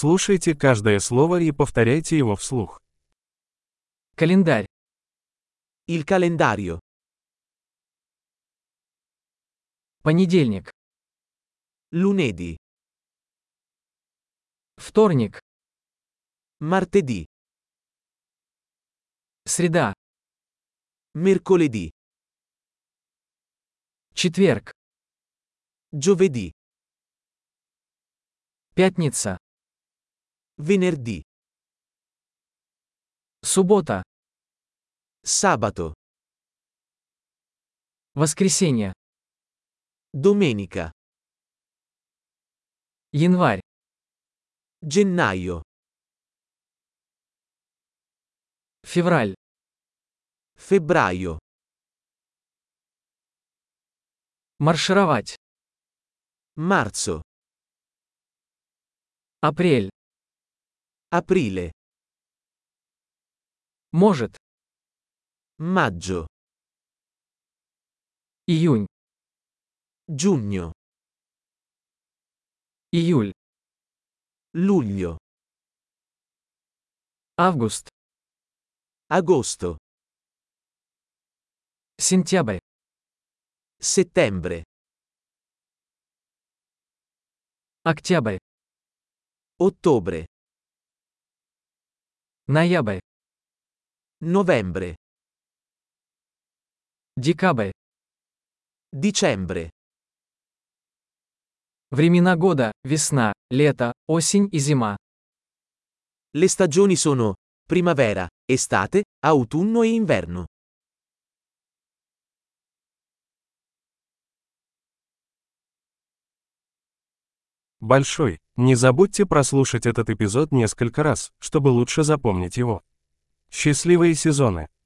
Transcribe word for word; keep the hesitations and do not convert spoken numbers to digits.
Слушайте каждое слово и повторяйте его вслух. Календарь. Il calendario. Понедельник. Lunedì. Вторник. Martedì. Среда. Mercoledì. Четверг. Giovedì. Пятница. Venerdì. Суббота. Sabato. Воскресенье. Domenica. Январь. Gennaio. Февраль. Febbraio. Маршировать. Marzo. Апрель. Aprile. Может. Maggio. Июнь. Giugno. Июль. Luglio. Август. Agosto. Сентябрь. Settembre. Октябрь. Ottobre. Ноябрь. Novembre. Декабрь. Dicembre. Времена года: весна, лето, осень и зима. Le stagioni sono primavera, estate, autunno e inverno. Большой. Не забудьте прослушать этот эпизод несколько раз, чтобы лучше запомнить его. Счастливые сезоны!